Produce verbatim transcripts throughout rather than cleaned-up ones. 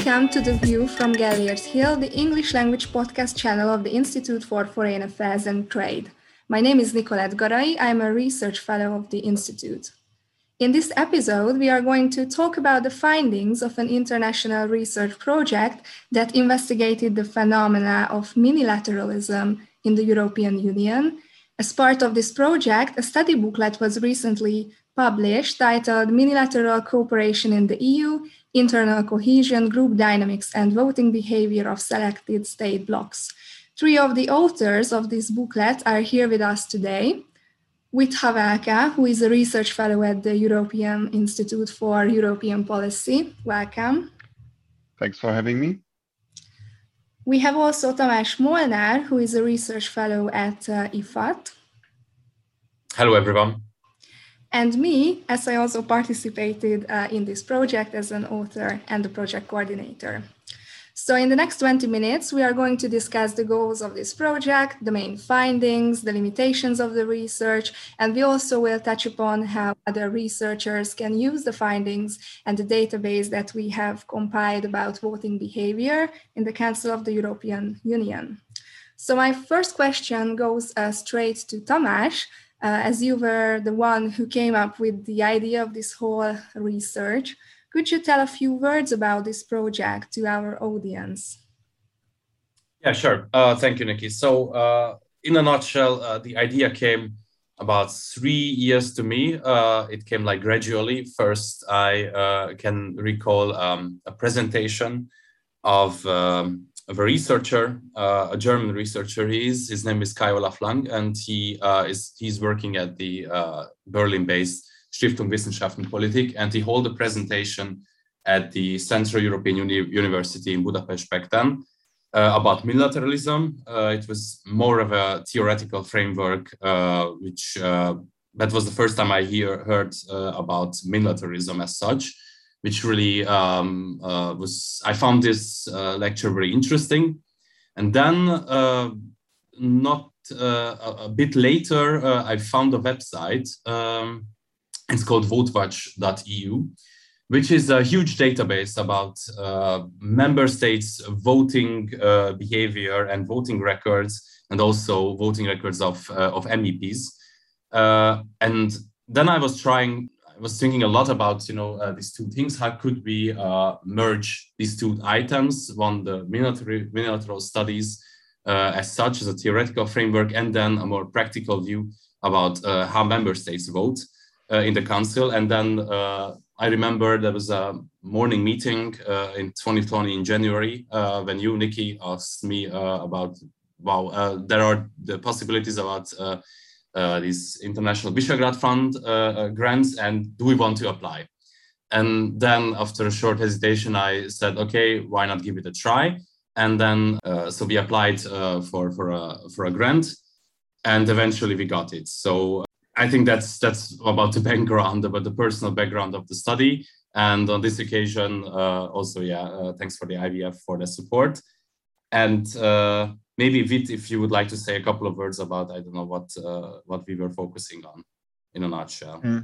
Welcome to The View from Gellért Hill, the English language podcast channel of the Institute for Foreign Affairs and Trade. My name is Nicolette Garai. I am a research fellow of the Institute. In this episode, we are going to talk about the findings of an international research project that investigated the phenomena of minilateralism in the European Union. As part of this project, a study booklet was recently published titled Minilateral Cooperation in the E U, Internal Cohesion, Group Dynamics and Voting Behavior of Selected State Blocs. Three of the authors of this booklet are here with us today. With Havelka, who is a research fellow at the European Institute for European Policy. Welcome. Thanks for having me. We have also Tamás Molnár, who is a research fellow at uh, I F A T. Hello, everyone. And me, as I also participated uh, in this project as an author and the project coordinator. So in the next twenty minutes, we are going to discuss the goals of this project, the main findings, the limitations of the research, and we also will touch upon how other researchers can use the findings and the database that we have compiled about voting behavior in the Council of the European Union. So my first question goes uh, straight to Tamás, uh, as you were the one who came up with the idea of this whole research. Could you tell a few words about this project to our audience? Yeah, sure. Uh, thank you, Nikki. So uh, in a nutshell, uh, the idea came about three years to me. Uh, it came like gradually. First, I uh, can recall um, a presentation of, um, of a researcher, uh, a German researcher he is. His name is Kai Olaf Lang, and he uh, is he's working at the uh, Berlin-based Stiftung Wissenschaft und Politik, and he held a presentation at the Central European Uni- University in Budapest back then uh, about multilateralism. Uh, it was more of a theoretical framework, uh, which uh, that was the first time I hear, heard uh, about multilateralism as such, which really um, uh, was, I found this uh, lecture very interesting. And then uh, not uh, a, a bit later, uh, I found a website. Um, It's called votewatch dot e u, which is a huge database about uh, member states' voting uh, behavior and voting records, and also voting records of, uh, of M E Ps. Uh, and then I was trying, I was thinking a lot about, you know, uh, these two things. How could we uh, merge these two items? One, the minilateral, minilateral studies uh, as such, as a theoretical framework, and then a more practical view about uh, how member states vote. Uh, in the council. And then uh, I remember there was a morning meeting uh, in twenty twenty in January uh, when you, Nikki, asked me uh, about, wow, uh, there are the possibilities about uh, uh, these International Visegrad Fund uh, uh, grants, and do we want to apply? And then after a short hesitation, I said, okay, why not give it a try? And then, uh, so we applied uh, for, for, a, for a grant, and eventually we got it. So I think that's that's about the background, about the personal background of the study. And on this occasion, uh, also, yeah, uh, thanks for the I V F for the support. And uh, maybe Vit, if you would like to say a couple of words about, I don't know, what uh, what we were focusing on in a nutshell. Mm.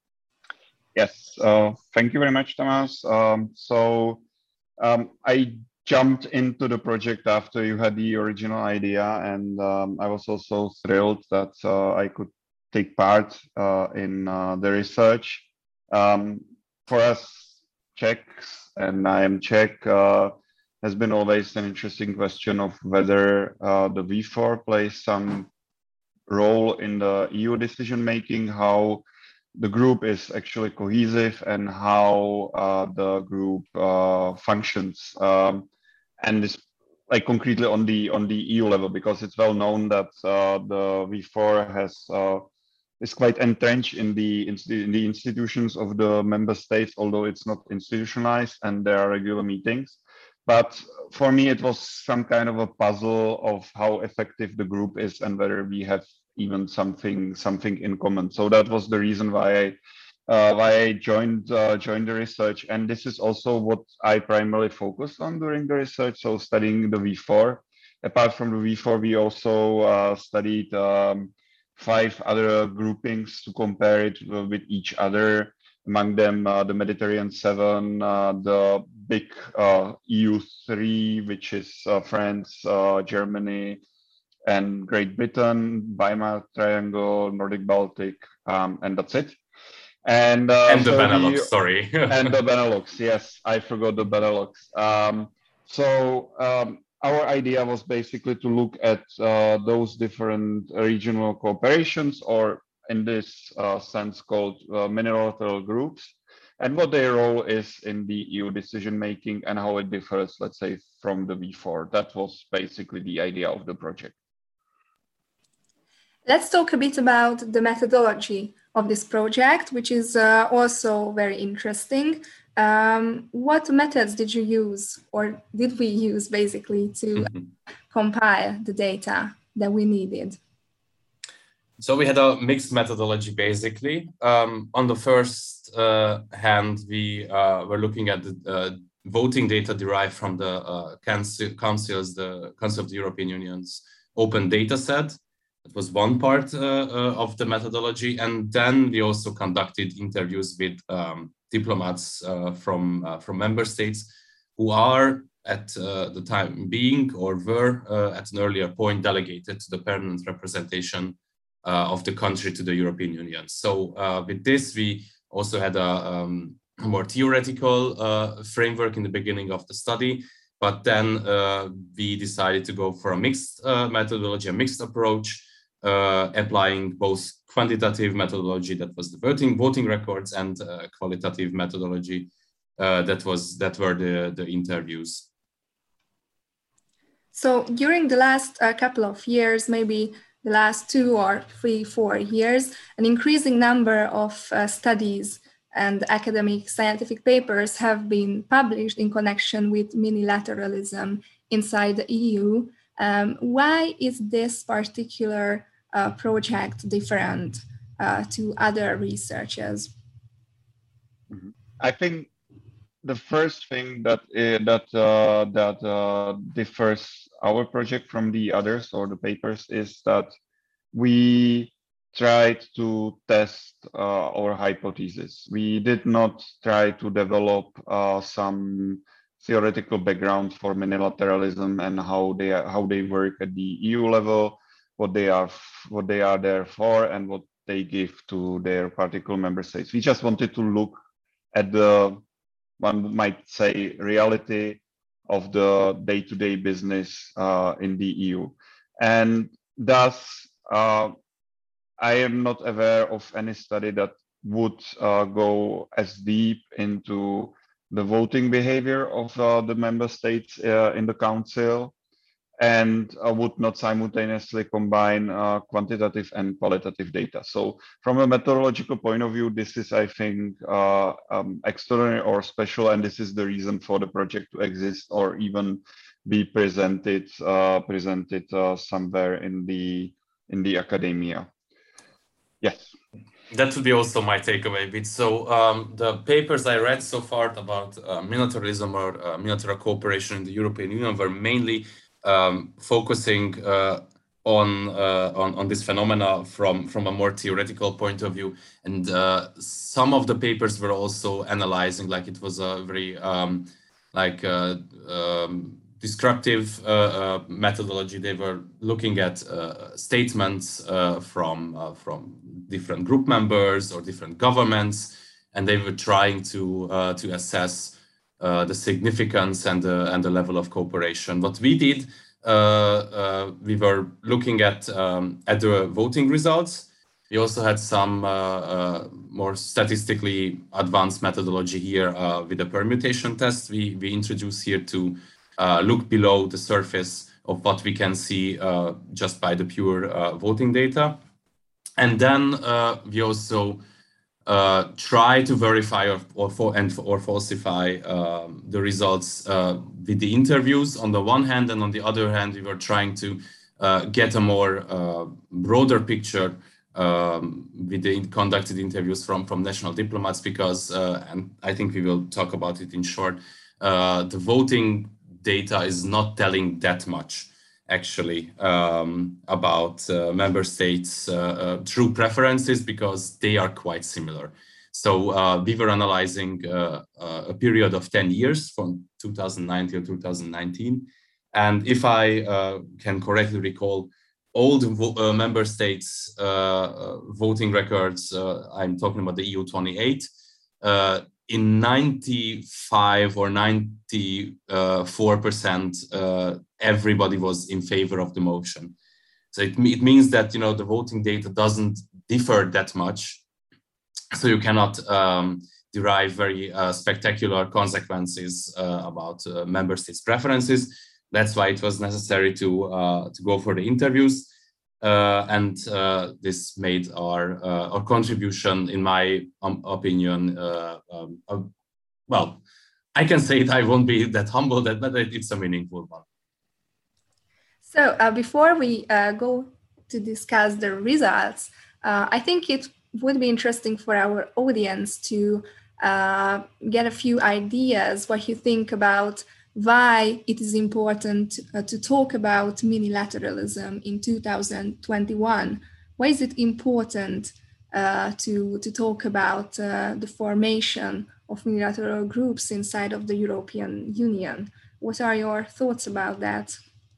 Yes, uh, thank you very much, Tamás. Um, so um, I jumped into the project after you had the original idea, and um, I was also thrilled that uh, I could take part uh, in uh, the research. Um, for us Czechs, and I am Czech, uh, has been always an interesting question of whether uh, the V four plays some role in the E U decision making, how the group is actually cohesive, and how uh, the group uh, functions. Um, and this, like concretely on the on the E U level, because it's well known that uh, the V four has uh, is quite entrenched in the in the institutions of the member states, although it's not institutionalized and there are regular meetings. But for me, it was some kind of a puzzle of how effective the group is and whether we have even something something in common. So that was the reason why I uh, why I joined uh, joined the research, and this is also what I primarily focused on during the research. So studying the V four. Apart from the V four, we also uh, studied um, five other groupings to compare it with each other among them uh, the Mediterranean Seven, uh, the big uh, E U three, which is uh, France, uh, Germany, and Great Britain, Weimar Triangle, Nordic Baltic, um, and that's it. And, uh, and the so Benelux, we, sorry. and the Benelux, yes, I forgot the Benelux. Um, so um, our idea was basically to look at uh, those different regional cooperations, or in this uh, sense called uh, minilateral groups, and what their role is in the E U decision making and how it differs, let's say, from the V four. That was basically the idea of the project. Let's talk a bit about the methodology of this project, which is uh, also very interesting. Um, what methods did you use, or did we use basically, to mm-hmm. compile the data that we needed? So we had a mixed methodology, basically. Um, on the first uh, hand, we uh, were looking at the uh, voting data derived from the uh, council, councils, the Council of the European Union's open data set. That was one part uh, uh, of the methodology. And then we also conducted interviews with um, diplomats uh, from, uh, from member states who are at uh, the time being, or were uh, at an earlier point, delegated to the permanent representation uh, of the country to the European Union. So uh, with this, we also had a, um, a more theoretical uh, framework in the beginning of the study, but then uh, we decided to go for a mixed uh, methodology, a mixed approach, uh, applying both quantitative methodology, that was the voting voting records, and uh, qualitative methodology, uh, that was that were the the interviews. So during the last uh, couple of years, maybe the last two or three, four years, an increasing number of uh, studies and academic scientific papers have been published in connection with minilateralism inside the E U. Um, why is this particular uh, project different uh, to other researches? I think the first thing that uh, that uh, that uh, differs our project from the others or the papers is that we tried to test uh, our hypothesis. We did not try to develop uh, some theoretical background for minilateralism and how they are, how they work at the E U level, what they are what they are there for, and what they give to their particular member states. We just wanted to look at the, one might say, reality of the day-to-day business uh, in the E U, and thus uh, I am not aware of any study that would uh, go as deep into the voting behavior of uh, the member states uh, in the council, and uh, would not simultaneously combine uh, quantitative and qualitative data. So from a methodological point of view, this is, I think, uh, um, extraordinary or special, and this is the reason for the project to exist or even be presented uh, presented uh, somewhere in the in the academia. Yes. That would be also my takeaway bit. So um, the papers I read so far about uh, militarism or uh, military cooperation in the European Union were mainly um, focusing uh, on, uh, on on this phenomena from from a more theoretical point of view, and uh, some of the papers were also analyzing, like it was a very um, like uh, um, descriptive uh, uh, methodology. They were looking at uh, statements uh, from uh, from different group members or different governments, and they were trying to uh, to assess uh, the significance and the and the level of cooperation. What we did, uh, uh, we were looking at um, at the voting results. We also had some uh, uh, more statistically advanced methodology here uh, with a permutation test. We we introduced here to Uh, look below the surface of what we can see uh, just by the pure uh, voting data. And then uh, we also uh, try to verify or, or, for, and, or falsify um, the results uh, with the interviews on the one hand, and on the other hand, we were trying to uh, get a more uh, broader picture um, with the conducted interviews from, from national diplomats, because, uh, and I think we will talk about it in short, uh, the voting data is not telling that much, actually, um, about uh, member states' uh, uh, true preferences, because they are quite similar. So uh, we were analyzing uh, uh, a period of ten years from two thousand nine to two thousand nineteen. And if I uh, can correctly recall, all the uh, member states' uh, uh, voting records, uh, I'm talking about the E U twenty-eight, uh, in ninety-five or ninety-four percent, uh, everybody was in favor of the motion. So it, it means that, you know, the voting data doesn't differ that much. So you cannot um, derive very uh, spectacular consequences uh, about uh, member states' preferences. That's why it was necessary to uh, to go for the interviews, uh, and uh, this made our uh, our contribution, in my um, opinion, uh, um, uh, well, I can say it. I won't be that humble, that but it's a meaningful one. So uh, before we uh, go to discuss the results, uh, I think it would be interesting for our audience to uh, get a few ideas what you think about why it is important uh, to talk about minilateralism in two thousand twenty-one. Why is it important uh, to, to talk about uh, the formation of minilateral groups inside of the European Union? What are your thoughts about that?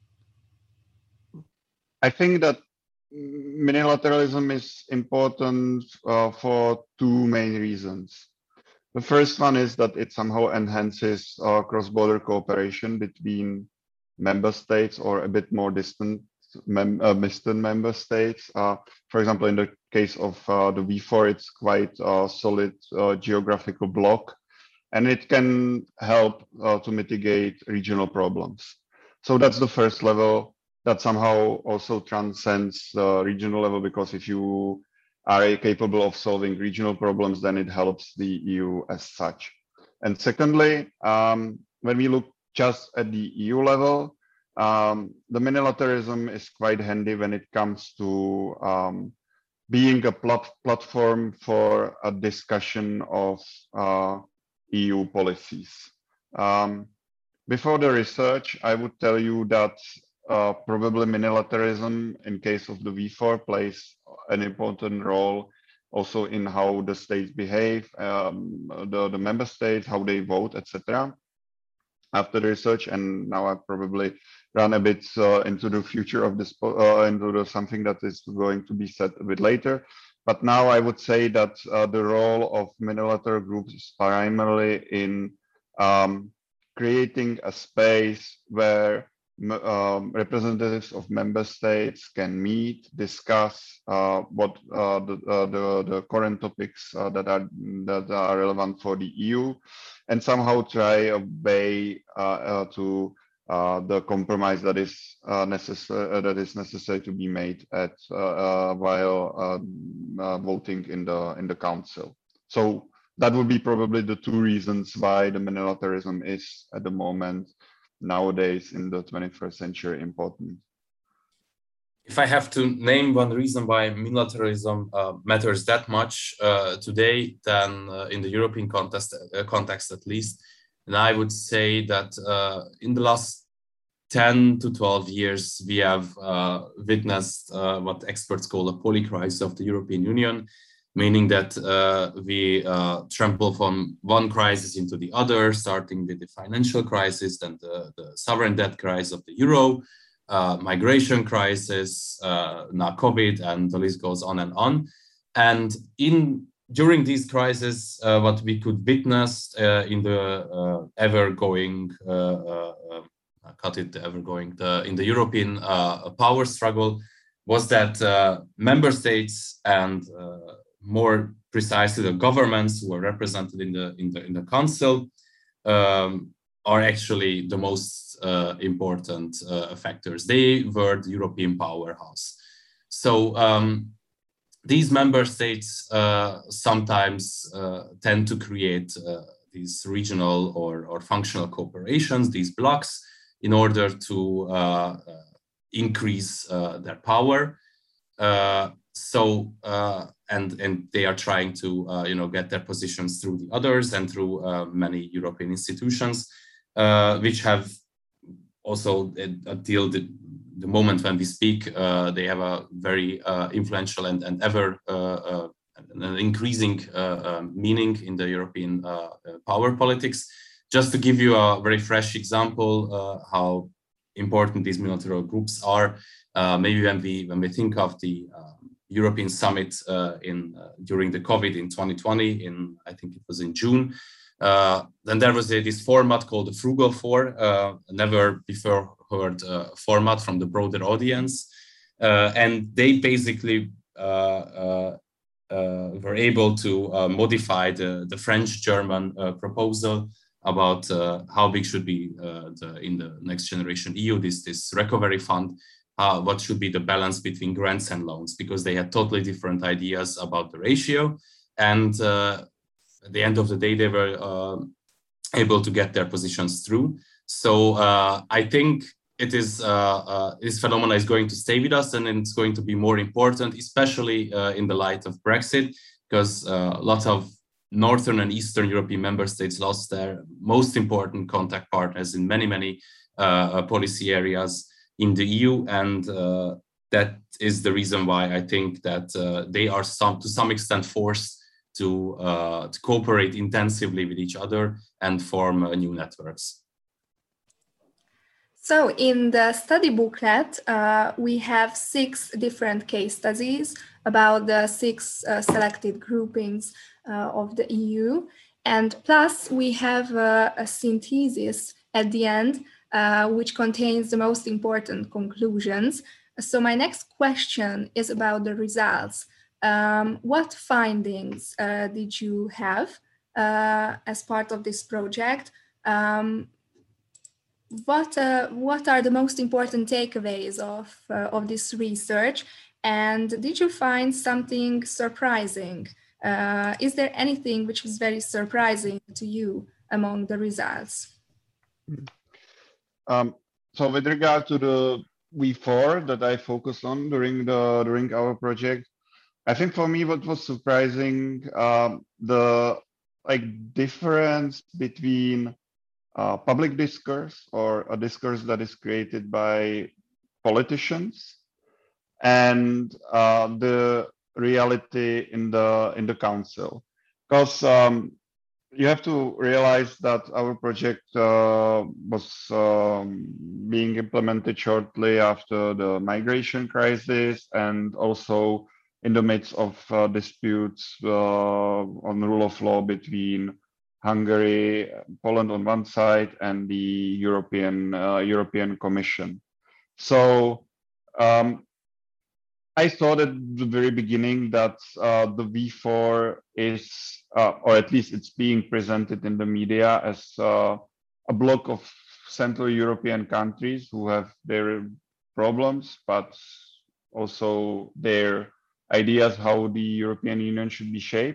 I think that minilateralism is important uh, for two main reasons. The first one is that it somehow enhances uh, cross-border cooperation between member states or a bit more distant, mem uh, distant member states. Uh, for example, in the case of uh, the V four, it's quite a solid uh, geographical block, and it can help uh, to mitigate regional problems. So that's the first level that somehow also transcends the regional level, because if you are capable of solving regional problems, then it helps the E U as such. And secondly, um, when we look just at the E U level, um, the minilateralism is quite handy when it comes to um, being a plat platform for a discussion of uh, E U policies. Um, before the research, I would tell you that Uh, probably minilateralism in case of the V four plays an important role also in how the states behave, um, the, the member states, how they vote, et cetera. After the research, and now I probably run a bit uh, into the future of this, uh, into the, something that is going to be said a bit later. But now I would say that uh, the role of minilateral groups is primarily in um, creating a space where Um, representatives of member states can meet, discuss uh, what uh, the, uh, the the current topics uh, that are that are relevant for the E U, and somehow try a way uh, uh, to uh, the compromise that is uh, necessary uh, that is necessary to be made at uh, uh, while uh, uh, voting in the in the council. So that would be probably the two reasons why the minilateralism is at the moment, nowadays in the twenty-first century, important. If I have to name one reason why minilateralism uh, matters that much uh, today, then uh, in the European context, uh, context at least, then I would say that uh, in the last ten to twelve years, we have uh, witnessed uh, what experts call a polycrisis of the European Union, meaning that uh, we uh, trample from one crisis into the other, starting with the financial crisis, then the, the sovereign debt crisis of the euro, uh, migration crisis, uh, now COVID, and the list goes on and on. And in during these crises, uh, what we could witness uh, in the uh, ever-going, uh, uh, uh, cut it, ever-going, the, in the European uh, power struggle, was that uh, member states and uh, more precisely the governments who are represented in the in the in the council um, are actually the most uh, important uh, factors. They were the European powerhouse. So um, these member states uh, sometimes uh, tend to create uh, these regional or, or functional cooperations, these blocks, in order to uh, uh, increase uh, their power. Uh, so uh, and and they are trying to uh, you know get their positions through the others and through uh, many European institutions, uh, which have also until the, the moment when we speak, uh, they have a very uh, influential and and ever uh, uh, an increasing uh, uh, meaning in the European uh, power politics. Just to give you a very fresh example uh, how important these multilateral groups are, uh, maybe when we when we think of the um, European summit uh, in uh, during the COVID in twenty twenty, in I think it was in June, uh, then there was a, this format called the Frugal Four, uh, never before heard uh, format from the broader audience, uh, and they basically uh, uh, uh, were able to uh, modify the the French-German uh, proposal about uh, how big should be uh, the, in the Next Generation E U, this, this recovery fund, uh, what should be the balance between grants and loans, because they had totally different ideas about the ratio. And uh, at the end of the day, they were uh, able to get their positions through. So uh, I think it is, uh, uh, this phenomenon is going to stay with us, and it's going to be more important, especially uh, in the light of Brexit, because uh, lots of Northern and Eastern European member states lost their most important contact partners in many, many uh, policy areas in the E U. And uh, that is the reason why I think that uh, they are some, to some extent forced to, uh, to cooperate intensively with each other and form uh, new networks. So in the study booklet, uh, we have six different case studies about the six uh, selected groupings uh, of the E U. And plus we have uh, a synthesis at the end, uh, which contains the most important conclusions. So my next question is about the results. Um, what findings uh, did you have uh, as part of this project? Um, What uh, what are the most important takeaways of uh, of this research, and did you find something surprising? Uh, is there anything which was very surprising to you among the results? Um, so with regard to the V four that I focused on during the during our project, I think for me what was surprising, um, the like difference between Uh, public discourse, or a discourse that is created by politicians, and uh, the reality in the in the council. Because um, you have to realize that our project uh, was um, being implemented shortly after the migration crisis, and also in the midst of uh, disputes uh, on the rule of law between Hungary, Poland on one side, and the European uh, European Commission. So um, I thought at the very beginning that uh, the V four is, uh, or at least it's being presented in the media as uh, a block of Central European countries who have their problems, but also their ideas how the European Union should be shaped.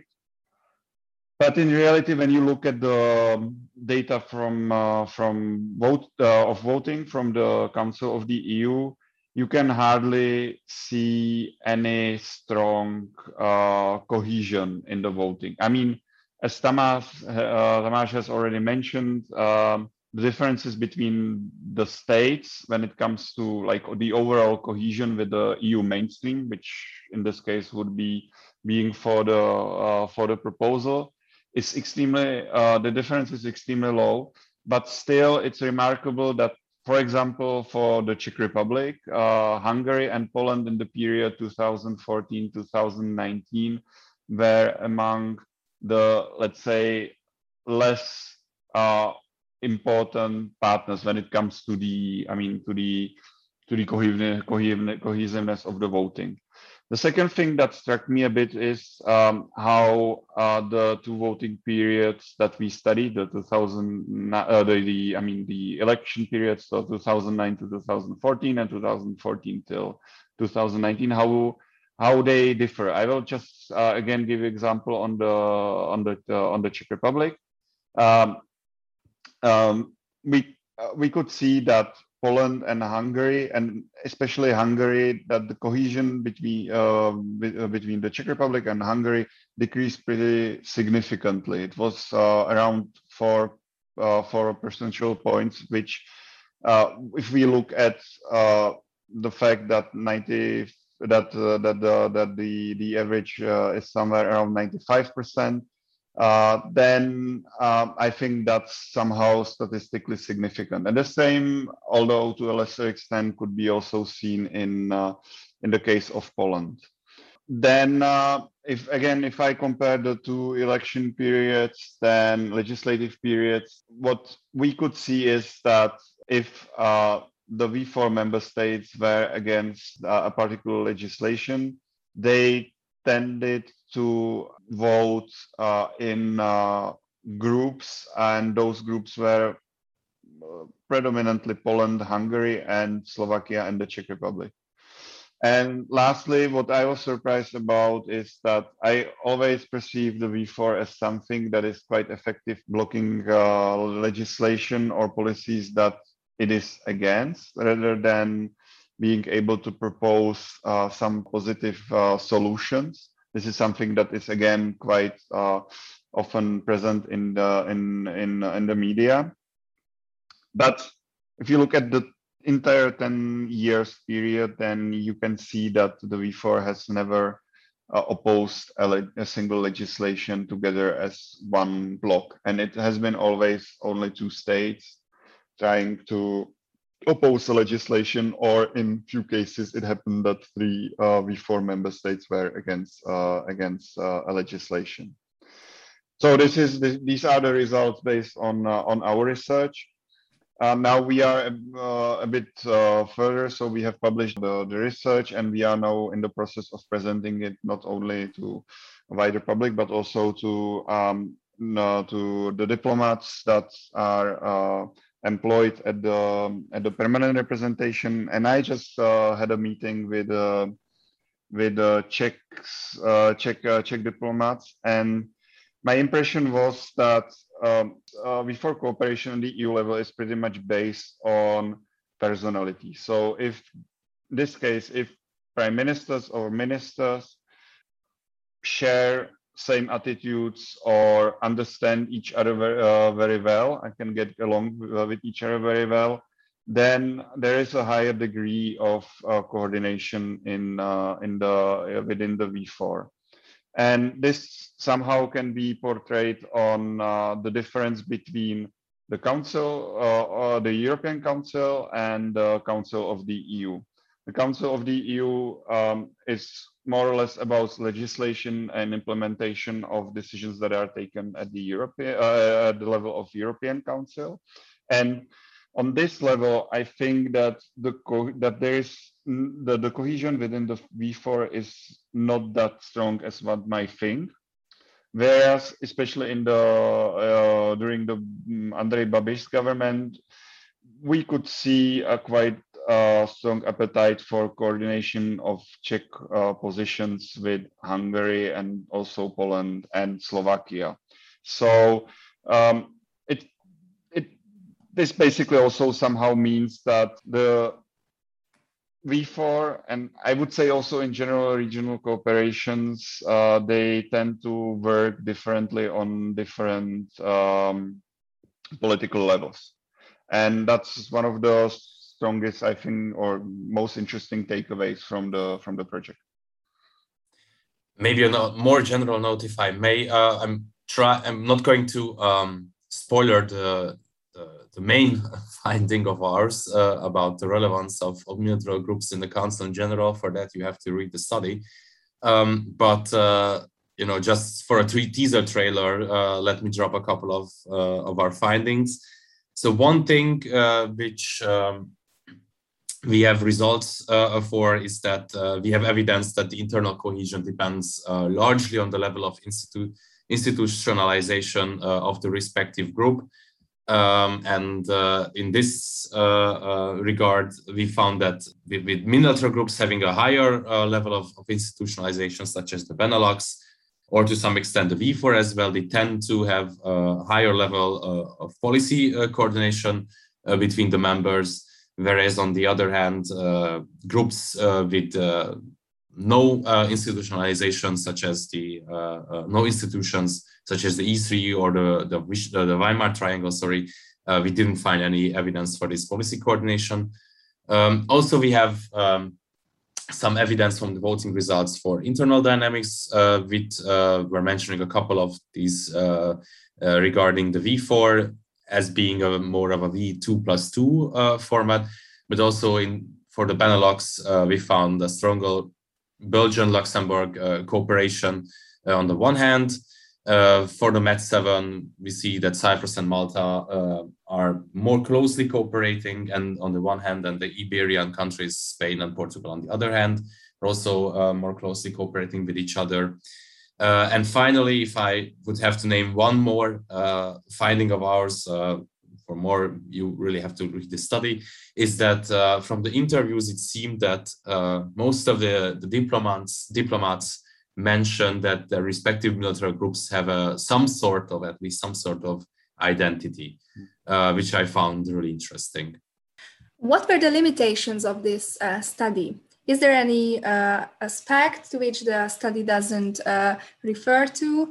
But in reality, when you look at the data from uh, from vote uh, of voting from the Council of the E U, you can hardly see any strong uh, cohesion in the voting. I mean, as Tamás uh, Tamás has already mentioned, um, the differences between the states when it comes to like the overall cohesion with the E U mainstream, which in this case would be being for the uh, for the proposal, is extremely, uh, the difference is extremely low, but still it's remarkable that, for example, for the Czech Republic, uh, Hungary and Poland in the period two thousand fourteen to two thousand nineteen were among the, let's say, less uh, important partners when it comes to the, I mean, to the, to the cohesiveness of the voting. The second thing that struck me a bit is um, how uh, the two voting periods that we studied, the two thousand, uh, the, the I mean the election periods, so two thousand nine to two thousand fourteen and two thousand fourteen till two thousand nineteen, how how they differ. I will just uh, again give you example on the on the uh, on the Czech Republic. Um, um, we uh, we could see that Poland and Hungary, and especially Hungary, that the cohesion between uh, between the Czech Republic and Hungary decreased pretty significantly. It was uh, around four uh, four percentage points, which, uh, if we look at uh, the fact that ninety that uh, that the that the the average uh, is somewhere around ninety-five percent, uh, then um, I think that's somehow statistically significant. And the same, although to a lesser extent, could be also seen in uh, in the case of Poland. Then, uh, if again, if I compare the two election periods, then legislative periods, what we could see is that if uh, the V four member states were against uh, a particular legislation, they tended to vote uh, in uh, groups, and those groups were uh, predominantly Poland, Hungary, and Slovakia and the Czech Republic. And lastly, what I was surprised about is that I always perceive the V four as something that is quite effective blocking uh, legislation or policies that it is against, rather than being able to propose uh, some positive uh, solutions. This is something that is again quite uh, often present in the in in in the media. But if you look at the entire ten years period, then you can see that the V four has never uh, opposed a, le a single legislation together as one bloc. And it has been always only two states trying to oppose the legislation, or in few cases, it happened that three uh, V four member states were against uh, against uh, a legislation. So this is the, these are the results based on uh, on our research. Uh, now we are uh, a bit uh, further, so we have published the, the research, and we are now in the process of presenting it not only to a wider public, but also to um, no, to the diplomats that are uh, employed at the at the permanent representation. And I just uh, had a meeting with uh, with uh, Czech uh, Czech uh, Czech diplomats, and my impression was that um, uh, V four cooperation on the E U level is pretty much based on personality. So if in this case, if prime ministers or ministers share same attitudes or understand each other very, uh, very well and can get along with each other very well, then there is a higher degree of uh, coordination in uh, in the uh, within the V four. And this somehow can be portrayed on uh, the difference between the Council, uh, or the European Council, and the Council of the E U. The Council of the E U um, is more or less about legislation and implementation of decisions that are taken at the European, uh, at the level of European Council. And on this level, I think that the co that there is the, the cohesion within the V four is not that strong as one might think. Whereas, especially in the uh, during the um, Andrej Babiš government, we could see a quite uh, strong appetite for coordination of Czech uh, positions with Hungary and also Poland and Slovakia. So um, it it this basically also somehow means that the V four, and I would say also in general regional cooperations, uh, they tend to work differently on different um, political levels. And that's one of the strongest, I think, or most interesting takeaways from the from the project. Maybe on a more general note, if I may, uh, I'm try. I'm not going to um, spoiler the, the the main finding of ours uh, about the relevance of, of multilateral groups in the Council in general. For that, you have to read the study. Um, but uh, you know, just for a teaser trailer, uh, let me drop a couple of uh, of our findings. So one thing uh, which um, we have results uh, for is that uh, we have evidence that the internal cohesion depends uh, largely on the level of institu institutionalization uh, of the respective group. Um, and uh, in this uh, uh, regard, we found that with, with multilateral groups having a higher uh, level of, of institutionalization, such as the Benelux, or to some extent the V four as well, they tend to have a higher level uh, of policy uh, coordination uh, between the members. Whereas on the other hand, uh, groups uh, with uh, no uh, institutionalization, such as the uh, uh, no institutions, such as the E three or the the, the Weimar Triangle, sorry, uh, we didn't find any evidence for this policy coordination. Um, also, we have um, some evidence from the voting results for internal dynamics. Uh, with uh, we're mentioning a couple of these uh, uh, regarding the V four as being a more of a V two plus two uh, format, but also in for the Benelux, uh, we found a stronger Belgian-Luxembourg uh, cooperation uh, on the one hand. Uh, for the MET seven, we see that Cyprus and Malta uh, are more closely cooperating, and on the one hand, and the Iberian countries, Spain and Portugal, on the other hand, are also uh, more closely cooperating with each other. Uh, and finally, if I would have to name one more uh, finding of ours, uh, for more, you really have to read the study, is that uh, from the interviews, it seemed that uh, most of the, the diplomats, diplomats mentioned that their respective military groups have a, some sort of, at least some sort of identity, uh, which I found really interesting. What were the limitations of this uh, study? Is there any uh, aspect to which the study doesn't uh, refer to,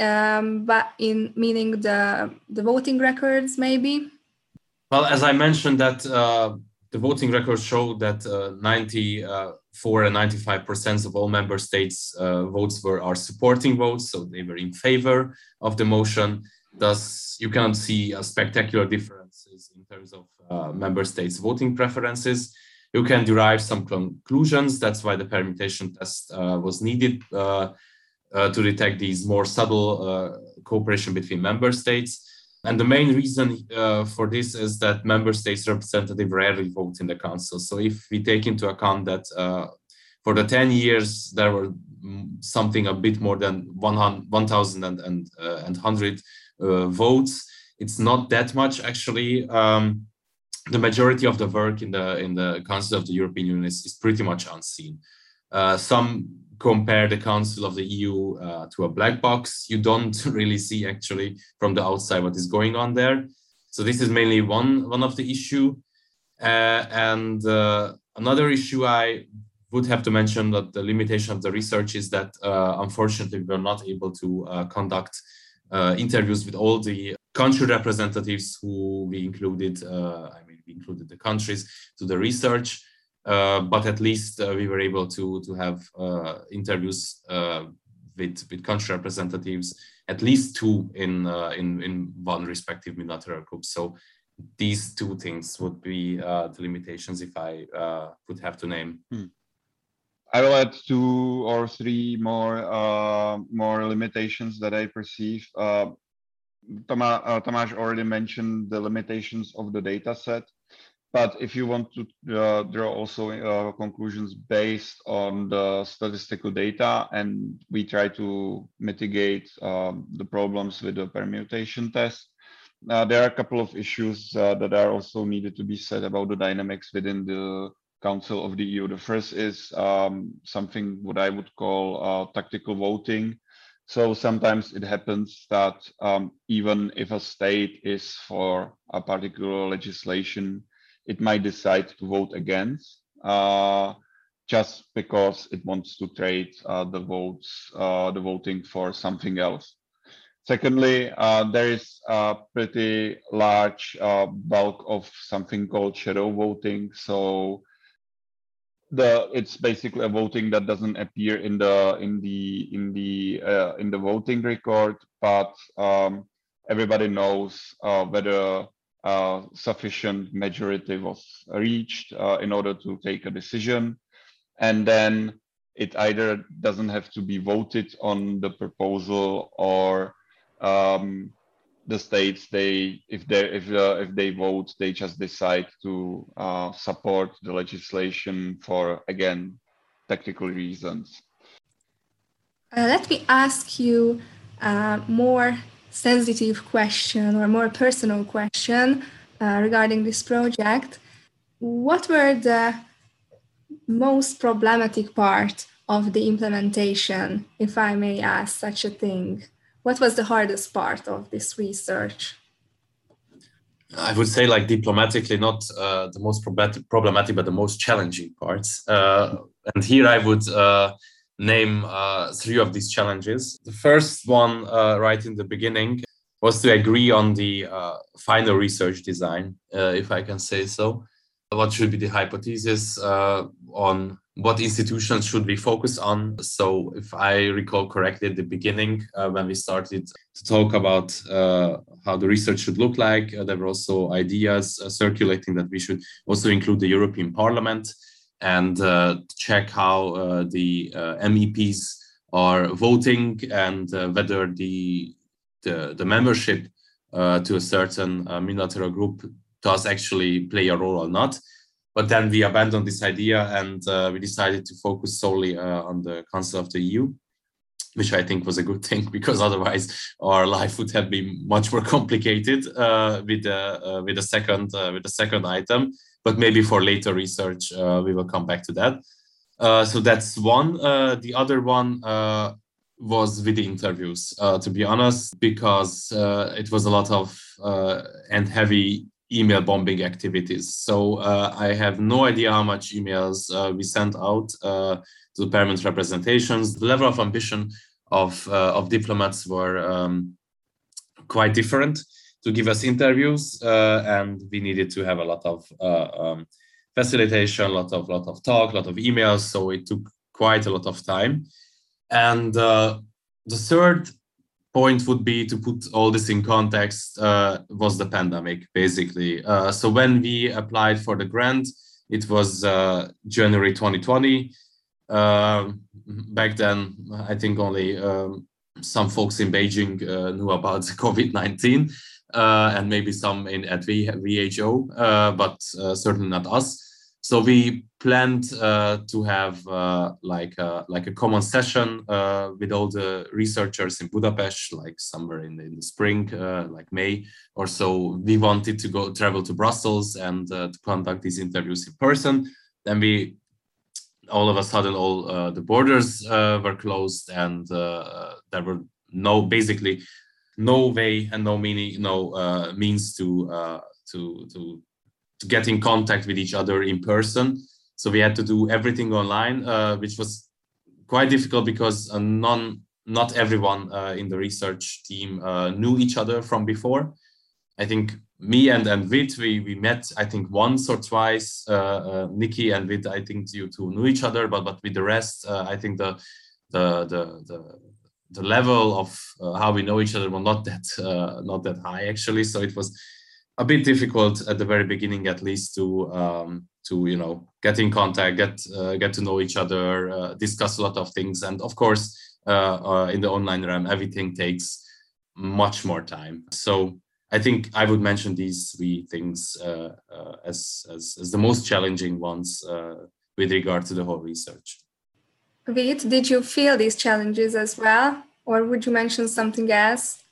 um, but in meaning the, the voting records maybe? Well, as I mentioned that uh, the voting records show that uh, ninety-four and ninety-five percent of all member states' uh, votes were are supporting votes, so they were in favor of the motion. Thus, you cannot see a spectacular differences in terms of uh, member states' voting preferences. You can derive some conclusions. That's why the permutation test uh, was needed uh, uh, to detect these more subtle uh, cooperation between member states. And the main reason uh, for this is that member states' representatives rarely vote in the council. So if we take into account that uh, for the ten years, there were something a bit more than one thousand and, and, uh, and one hundred uh, votes, it's not that much actually. Um, the majority of the work in the, in the Council of the European Union is, is pretty much unseen. Uh, some compare the Council of the E U uh, to a black box. You don't really see actually from the outside what is going on there. So this is mainly one, one of the issue. Uh, and uh, another issue I would have to mention that the limitation of the research is that uh, unfortunately we were not able to uh, conduct uh, interviews with all the country representatives who we included, uh, I mean, we included the countries to the research. Uh, but at least uh, we were able to to have uh, interviews uh, with with country representatives, at least two in uh, in in one respective multilateral group. So these two things would be uh, the limitations if I uh, would have to name. Hmm. I will add two or three more uh, more limitations that I perceive. Uh, Tama, uh, Tamás already mentioned the limitations of the data set. But if you want to uh, draw also uh, conclusions based on the statistical data, and we try to mitigate um, the problems with the permutation test, uh, there are a couple of issues uh, that are also needed to be said about the dynamics within the Council of the E U. The first is um, something what I would call uh, tactical voting. So sometimes it happens that um, even if a state is for a particular legislation, it might decide to vote against uh, just because it wants to trade uh, the votes, uh, the voting for something else. Secondly, uh, there is a pretty large uh, bulk of something called shadow voting. So the it's basically a voting that doesn't appear in the in the in the uh, in the voting record, but um, everybody knows uh, whether Uh, sufficient majority was reached uh, in order to take a decision, and then it either doesn't have to be voted on the proposal, or um, the states they if they if uh, if they vote, they just decide to uh, support the legislation for, again, tactical reasons. Uh, let me ask you uh, more sensitive question or more personal question uh, regarding this project. What were the most problematic part of the implementation, if I may ask such a thing? What was the hardest part of this research? I would say, like, diplomatically, not uh, the most problematic, but the most challenging parts. Uh, and here I would uh, name uh, three of these challenges. The first one, uh, right in the beginning, was to agree on the uh, final research design, uh, if I can say so. What should be the hypothesis uh, on what institutions should we focus on. So if I recall correctly at the beginning, uh, when we started to talk about uh, how the research should look like, uh, there were also ideas uh, circulating that we should also include the European Parliament and uh, check how uh, the uh, M E Ps are voting and uh, whether the, the, the membership uh, to a certain uh, multilateral group does actually play a role or not. But then we abandoned this idea and uh, we decided to focus solely uh, on the Council of the E U, which I think was a good thing, because otherwise our life would have been much more complicated uh, with the uh, with the second uh, with the second item. But maybe for later research uh, we will come back to that. Uh, so that's one. Uh, the other one uh, was with the interviews. Uh, to be honest, because uh, it was a lot of uh, and heavy email bombing activities. So uh, I have no idea how much emails uh, we sent out uh, to the permanent representations. The level of ambition of, uh, of diplomats were um, quite different to give us interviews, uh, and we needed to have a lot of uh, um, facilitation, a lot of, lot of talk, a lot of emails. So it took quite a lot of time. And uh, the third point would be to put all this in context uh, was the pandemic, basically. Uh, so when we applied for the grant, it was uh, January twenty twenty. Uh, back then, I think only um, some folks in Beijing uh, knew about COVID nineteen uh, and maybe some in at v- WHO, uh, but uh, certainly not us. So we planned uh, to have uh, like a, like a common session uh, with all the researchers in Budapest, like somewhere in the, in the spring, uh, like May or so. We wanted to go travel to Brussels and uh, to conduct these interviews in person. Then we, all of a sudden, all uh, the borders uh, were closed, and uh, there were no, basically, no way and no meaning, no uh, means to uh, to to. to get in contact with each other in person. So we had to do everything online, uh, which was quite difficult because uh, none, not everyone uh, in the research team uh, knew each other from before. I think me and, and Vid, we, we met, I think once or twice. Uh, uh, Nikki and Vid, I think you two knew each other, but, but with the rest, uh, I think the, the, the, the, the level of uh, how we know each other was not that, uh, not that high actually. So it was a bit difficult at the very beginning, at least, to um, to you know get in contact, get uh, get to know each other, uh, discuss a lot of things, and of course, uh, uh, in the online realm, everything takes much more time. So I think I would mention these three things uh, uh, as, as as the most challenging ones uh, with regard to the whole research. Vid, did you feel these challenges as well, or would you mention something else?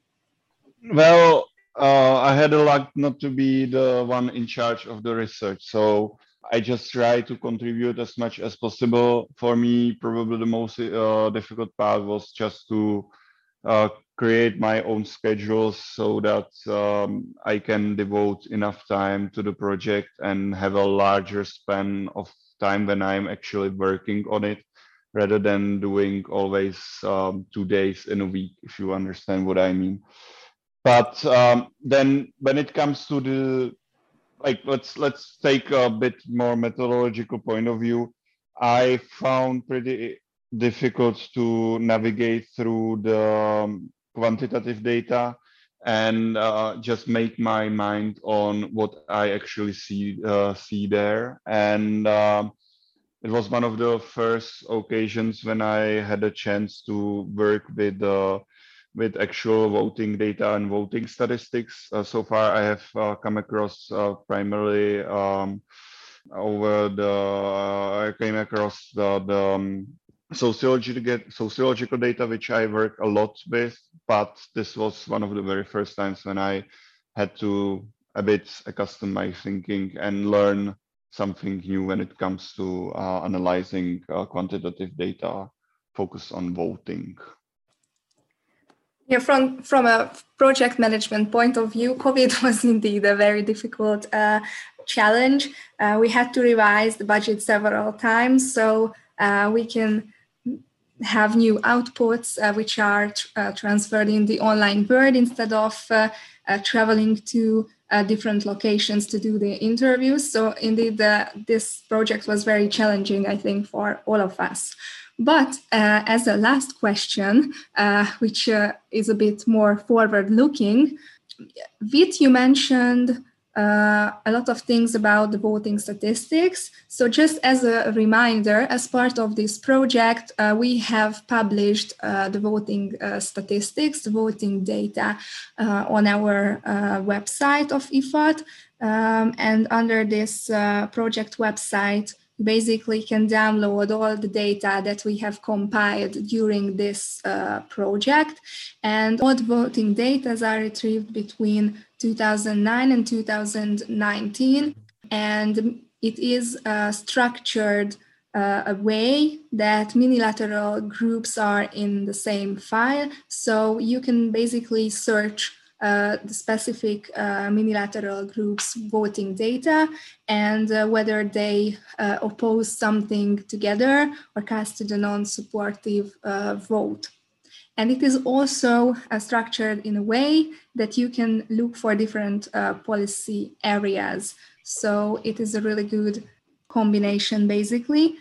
Well, Uh, I had a luck not to be the one in charge of the research, so I just try to contribute as much as possible. For me, probably the most uh, difficult part was just to uh, create my own schedules so that um, I can devote enough time to the project and have a larger span of time when I'm actually working on it, rather than doing always um, two days in a week, if you understand what I mean. But um, then when it comes to the, like, let's let's take a bit more methodological point of view, I found pretty difficult to navigate through the um, quantitative data and uh, just make my mind on what I actually see uh, see there. And um, it was one of the first occasions when I had a chance to work with uh, with actual voting data and voting statistics. Uh, so far, I have uh, come across uh, primarily um, over the, uh, I came across the, the um, sociological, sociological data, which I work a lot with, but this was one of the very first times when I had to a bit accustom my thinking and learn something new when it comes to uh, analyzing uh, quantitative data focused on voting. Yeah, from, from a project management point of view, COVID was indeed a very difficult uh, challenge. Uh, we had to revise the budget several times, so uh, we can have new outputs uh, which are tr- uh, transferred in the online world instead of uh, uh, traveling to uh, different locations to do the interviews. So indeed, uh, this project was very challenging, I think, for all of us. But uh, as a last question, uh, which uh, is a bit more forward-looking, Vit, you mentioned uh, a lot of things about the voting statistics. So just as a reminder, as part of this project, uh, we have published uh, the voting uh, statistics, the voting data uh, on our uh, website of I F A T. Um, and under this uh, project website, you basically can download all the data that we have compiled during this uh, project. And all the voting data are retrieved between two thousand nine and two thousand nineteen. And it is uh, structured uh, a way that minilateral groups are in the same file. So you can basically search Uh, the specific uh, minilateral groups' voting data and uh, whether they uh, oppose something together or casted a non-supportive uh, vote. And it is also uh, structured in a way that you can look for different uh, policy areas. So it is a really good combination, basically.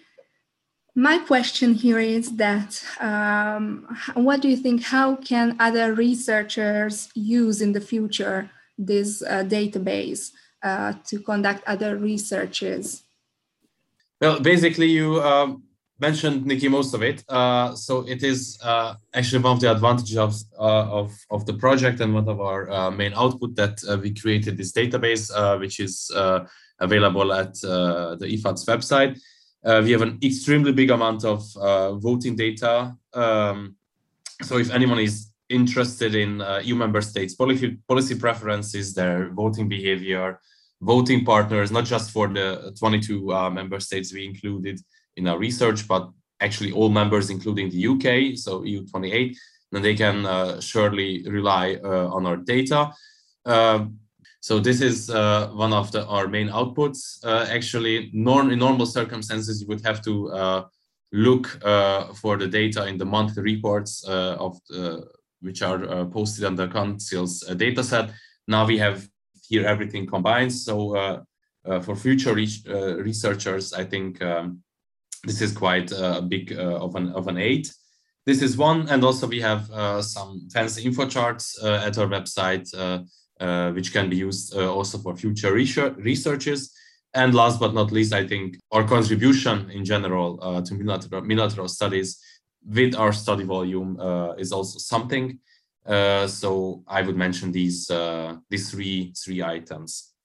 My question here is that, um, what do you think, how can other researchers use in the future this uh, database uh, to conduct other researches? Well, basically you um, mentioned, Nikki, most of it. Uh, so it is uh, actually one of the advantages of, uh, of, of the project and one of our uh, main output that uh, we created this database, uh, which is uh, available at uh, the I F A T's website. Uh, we have an extremely big amount of uh, voting data. Um, so if anyone is interested in uh, E U member states' policy, policy preferences, their voting behavior, voting partners, not just for the twenty-two uh, member states we included in our research, but actually all members, including the U K, so E U twenty-eight, then they can uh, surely rely uh, on our data. Uh, So this is uh, one of the, our main outputs. Uh, actually, norm, in normal circumstances, you would have to uh, look uh, for the data in the monthly reports uh, of the, which are uh, posted on the Council's uh, data set. Now we have here everything combined. So uh, uh, for future re uh, researchers, I think um, this is quite a big uh, of, an, of an aid. This is one, and also we have uh, some fancy info charts uh, at our website, uh, Uh, which can be used uh, also for future researches. And last but not least, I think our contribution in general uh, to minilateral, minilateral studies with our study volume uh, is also something. Uh, so I would mention these, uh, these three, three items.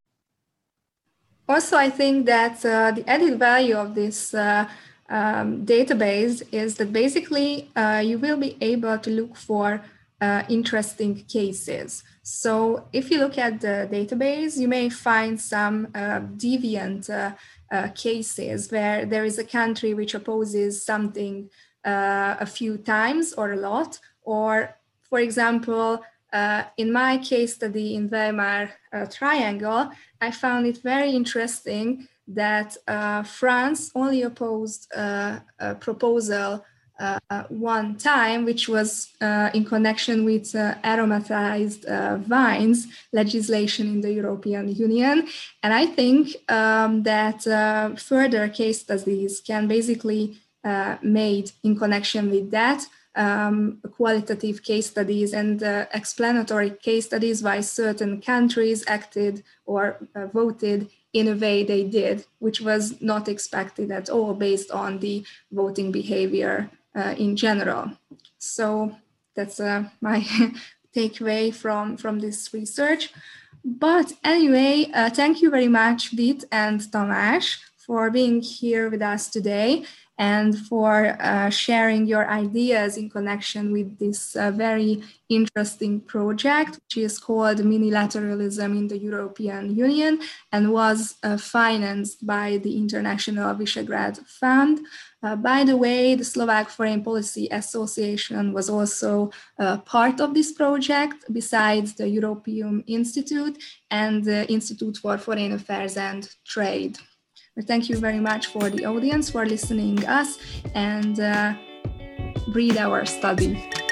Also, I think that uh, the added value of this uh, um, database is that basically uh, you will be able to look for uh, interesting cases. So if you look at the database, you may find some uh, deviant uh, uh, cases where there is a country which opposes something uh, a few times or a lot. Or, for example, uh, in my case study in Weimar uh, Triangle, I found it very interesting that uh, France only opposed uh, a proposal Uh, uh, one time, which was uh, in connection with uh, aromatized uh, wines legislation in the European Union. And I think um, that uh, further case studies can basically uh, made in connection with that, um, qualitative case studies and uh, explanatory case studies why certain countries acted or uh, voted in a way they did, which was not expected at all based on the voting behavior Uh, in general. So that's uh, my takeaway from, from this research. But anyway, uh, thank you very much, Vit and Tamás, for being here with us today and for uh, sharing your ideas in connection with this uh, very interesting project, which is called Minilateralism in the European Union and was uh, financed by the International Visegrad Fund. Uh, by the way, the Slovak Foreign Policy Association was also uh, part of this project, besides the European Institute and the Institute for Foreign Affairs and Trade. Thank you very much for the audience for listening us and uh, read our study.